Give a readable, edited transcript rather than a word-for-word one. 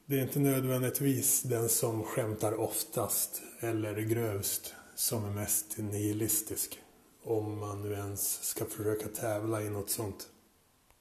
Det är inte nödvändigtvis den som skämtar oftast eller grövst som är mest nihilistisk. Om man nu ens ska försöka tävla i något sånt.